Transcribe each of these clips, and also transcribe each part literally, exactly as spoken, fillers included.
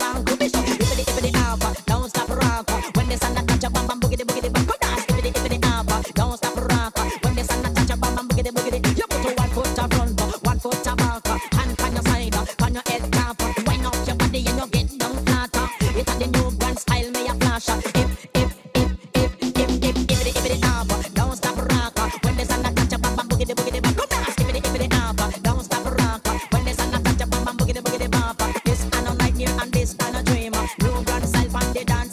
song to be so. Ippity ippity up, don't stop rock. When the sun a touch a bam bam boogity boogity bam, go dance. Ippity ippity up, don't stop rock. When the sun a touch a bam bam boogity boogity, you put to one foot a front, one foot a back, hand on your side, on your head top. Wind up your body and you get down flat. It's a the new brand style, me a flash. If if if if if if ippity ippity up, don't stop rock. When the sun a touch a bam bam boogity boogity bam, go dance. Ippity ippity up, don't stop rock. When the sun a touch a bam bam boogity boogity bam. This I no nightmare and this I no dream. New brand style from the dance.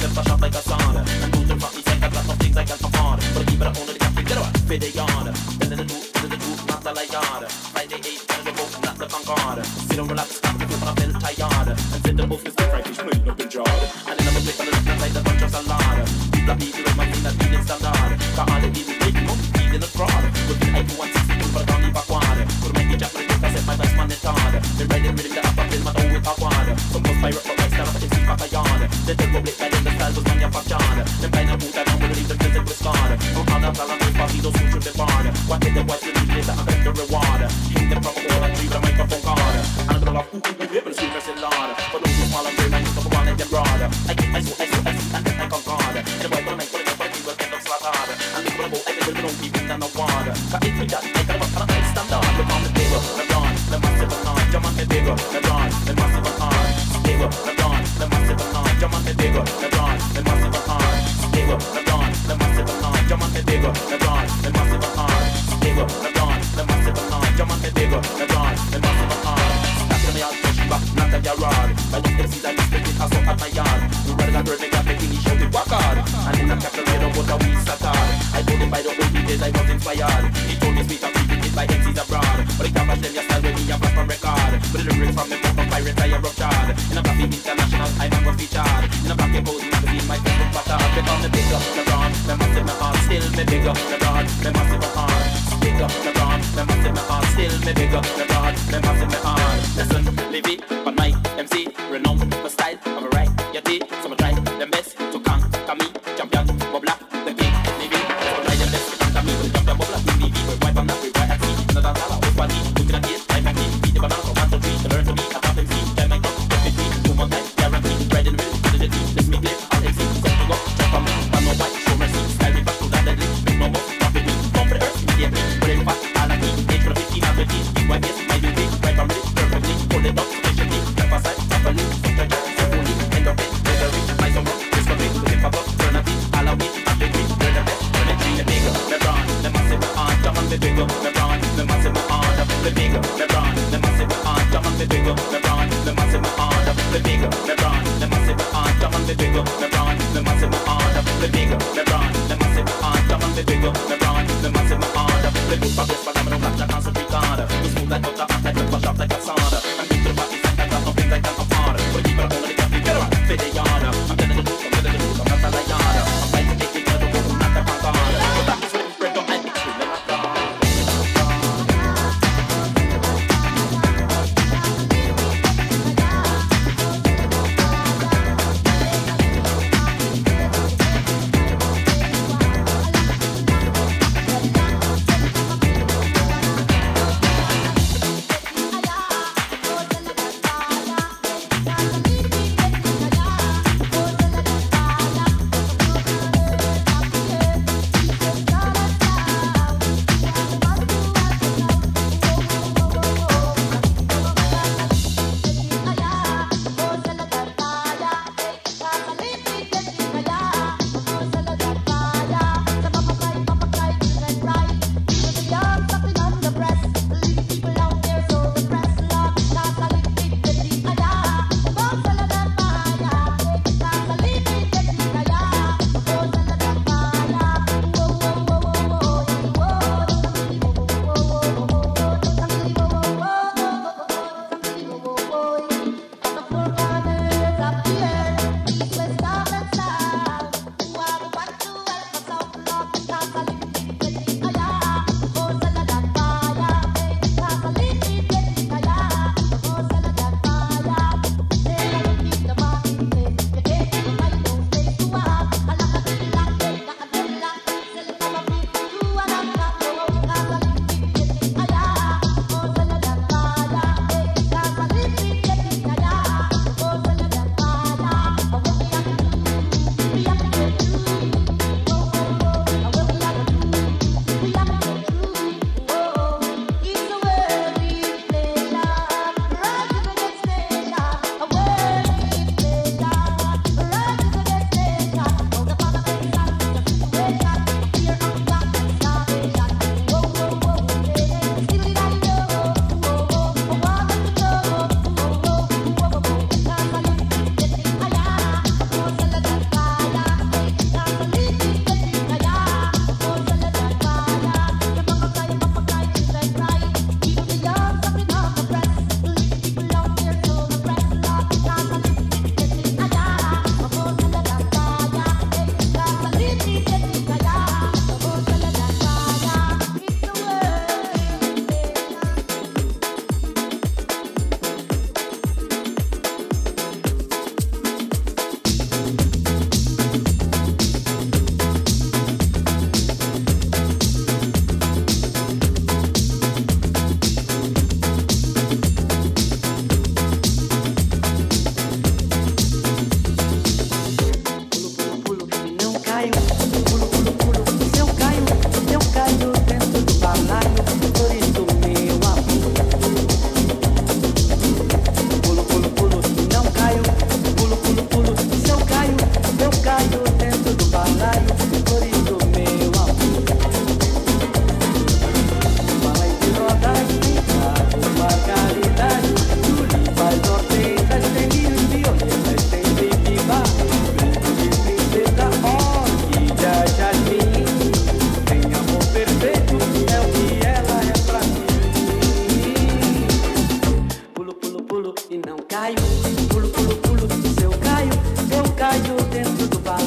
just a shot like a sauna. And do the rock me saying I got some things I can't afford. But keep it only the cafe, get up, fit the yard. Then the do, then the do, not the light yard. Friday eight, and the boat, not the Concorde. Sit and relax, stop, flip on a belt tired. And sit the booth, is good Frankish, clean up the jar. And then I'm a click on the left side, the bunch of salad. People are people of my thing, that feeling standard. Got all the easy, big, no, in the fraud. With the I Q one sixty-two for the county backward. Could make me jack for the dick, I set my best man in hard. Then riding rhythm the upper film, I know with a quad. Some post pirate, but I stand up and see back a yard. Then the public guide in the style was manufactured. Then blind and boot, I don't believe the visit was scarred. From all the talent, we party, those who should be barred. What did the white to leave later, I got the reward. Hit them from a wall and three with a microphone card. And I'm gonna laugh, ooh, ooh, ooh, but the street person lord. For those who small and brave, I need to go on and get broad. I get I so, I so, I see, and then I concord. And the white will make, will make, will make, will end up slaughtered. And look for the boat, I think we'll be with an award. Cause if we just, I gotta work on a high standard. Look on the table, LeBron, the massive and jump on the bigger, LeBron, the massive and stable, LeBron, the massive and jump on the bigger, LeBron, the massive and stable, LeBron, the massive and jump on the bigger, LeBron, the massive and stable, LeBron, the massive and jump on the bigger, LeBron, the massive and that's me all push back, not at your rod. By the M Cs I respect it, I saw at my yard. You rather than bird, they got making me show it work hard. And in the captain made up what a we started. I told him by the old days I was inspired. He told me sweet and sweet it by M Cs abroad. But he can't bash them your style when he have a from record. But the lyrics from them from pirates I have ruptured. In a coffee international I never featured. In a black and gold magazine my Facebook pattern. Because me big up LeBron, me massive my heart. Still me big up LeBron, me massive my heart. Big up LeBron, me massive my heart. Still me big up LeBron, me massive my heart. Listen, live it, but my M C renowned for style. I'm a right, you did, so I try the best to conquer me. Champion, Bobla, the king, live it, so try the best to conquer me. Champion, Bobla, we live it, but wipe on that, we write at sea. Another dollar, with one knee, look at it, I'm happy. Beat the banana, one, two, three, to learn to be a top M C. Try my talk, get me free, two more times, guarantee. Right in the middle, to the team, let's make live, all M C. Set to go, jump on me, one no white, show mercy. Style me back to that deadly, make no more, profit me. Come for the earth, immediately, put it fast, all at me. Age for the fifteen and twenty, why yes, my duty, right from it, perfectly. Hold it up, sufficiently, step aside, properly, such a job, so fully, end up it, misery, my summer, discovery,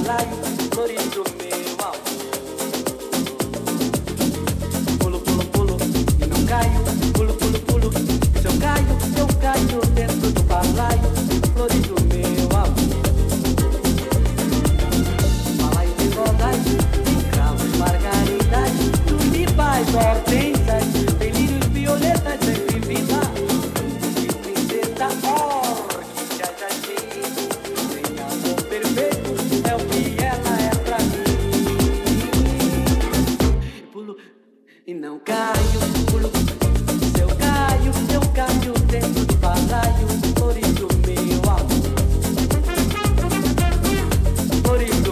balaio, florido meu amor. Pulo, pulo, pulo e não caio, pulo, pulo, pulo. Se eu caio, eu caio dentro do balaio, florido meu amor. Balaio de rodas, de cravos, margaridas, tulipais, hortensas, delírios, violetas, sempre vida. De princesa, orquídea, jardim, sem amor perfeito, é o que ela é pra mim. Pulo e não caio, pulo. Se eu caio, eu caio dentro do balaio, florido meu amor. Florido